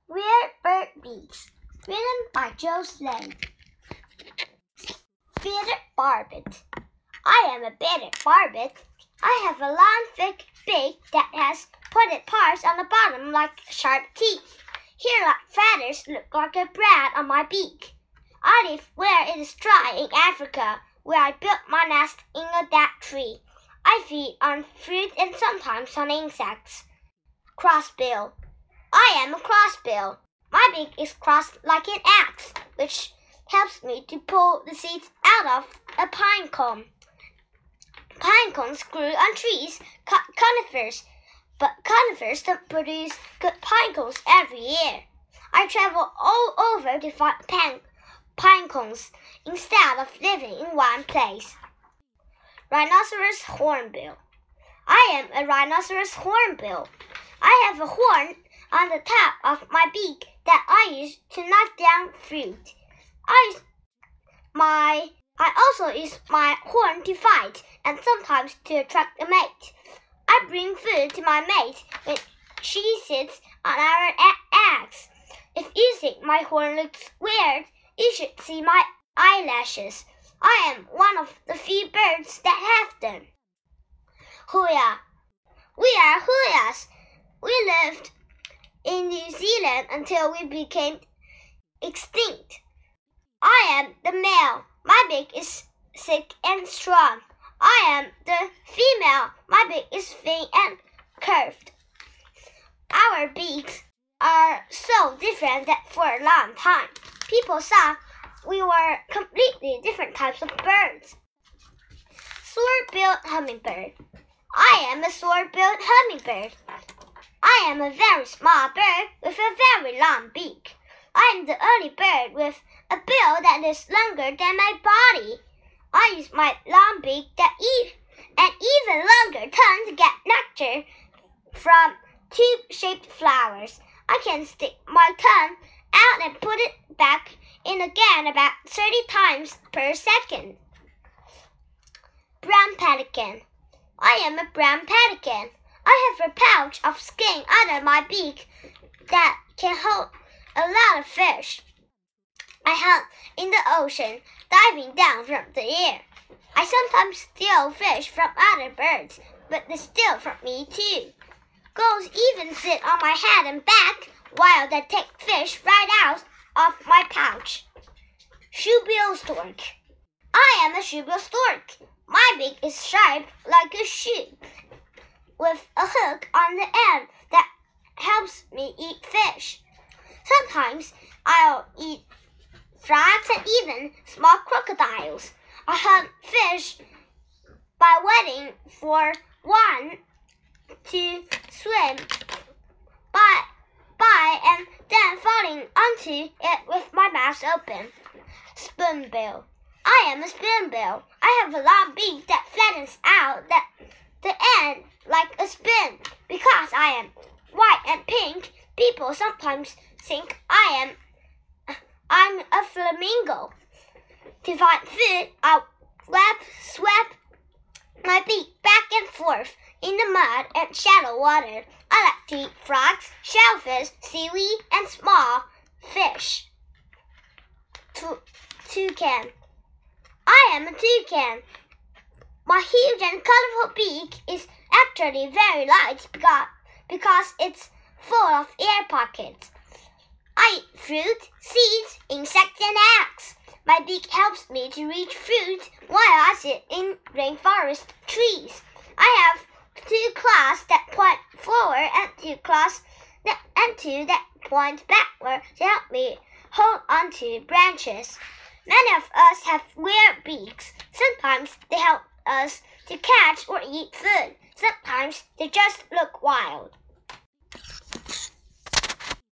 Weird Bird Beaks, written by Joe Slade. Bearded Barbet. I am a bearded barbet. I have a long, thick beak that has pointed parts on the bottom like sharp teeth. Hair-like feathers look like a brand on my beak. I live where it is dry in Africa, where I built my nest in a dead tree. I feed on fruit and sometimes on insects. Crossbill. I am a crossbill. My beak is crossed like an axe, which helps me to pull the seeds out of a pine cone. Pine cones grew on trees, conifers, but conifers don't produce good pine cones every year. I travel all over to find pine cones instead of living in one place. Rhinoceros hornbill. I am a rhinoceros hornbill. I have a horn on the top of my beak that I use to knock down fruit. I also use my horn to fight and sometimes to attract a mate. I bring food to my mate when she sits on our eggs. If you think my horn looks weird, you should see my eyelashes. I am one of the few birds that have them. Huia. We are Huias. We lived in New Zealand until we became extinct. I am the male. My beak is thick and strong. I am the female. My beak is thin and curved. Our beaks are so different that for a long time, people thought we were completely different types of birds. Sword-billed hummingbird. I am a sword-billed hummingbird. I am a very small bird with a very long beak. I am the only bird with a bill that is longer than my body. I use my long beak and even longer tongue to get nectar from tube-shaped flowers. I can stick my tongue out and put it back in again about 30 times per second. Brown pelican. I am a brown pelican. I have a pouch of skin under my beak that can hold a lot of fish. I hunt in the ocean, diving down from the air. I sometimes steal fish from other birds, but they steal from me too. Gulls even sit on my head and back while they take fish right out of my pouch. Shoebill stork. I am a shoebill stork. My beak is sharp like a shoe, with a hook on the end that helps me eat fish. Sometimes I'll eat frogs and even small crocodiles. I hunt fish by waiting for one to swim by and then falling onto it with my mouth open. Spoonbill. I am a spoonbill. I have a long beak that flattens out the end like a spoon. Because I am white and pink, people sometimes think I'm a flamingo. To find food, I'll swap my beak back and forth in the mud and shallow water. I like to eat frogs, shellfish, seaweed, and small fish. Toucan. I am a toucan. My huge and colorful beak is actually very light because it's full of air pockets. I eat fruit, seeds, insects, and eggs. My beak helps me to reach fruit while I sit in rainforest trees. I have 2 claws that point forward and 2 claws that point backward to help me hold onto branches. Many of us have weird beaks. Sometimes they help us to catch or eat food. Sometimes they just look wild.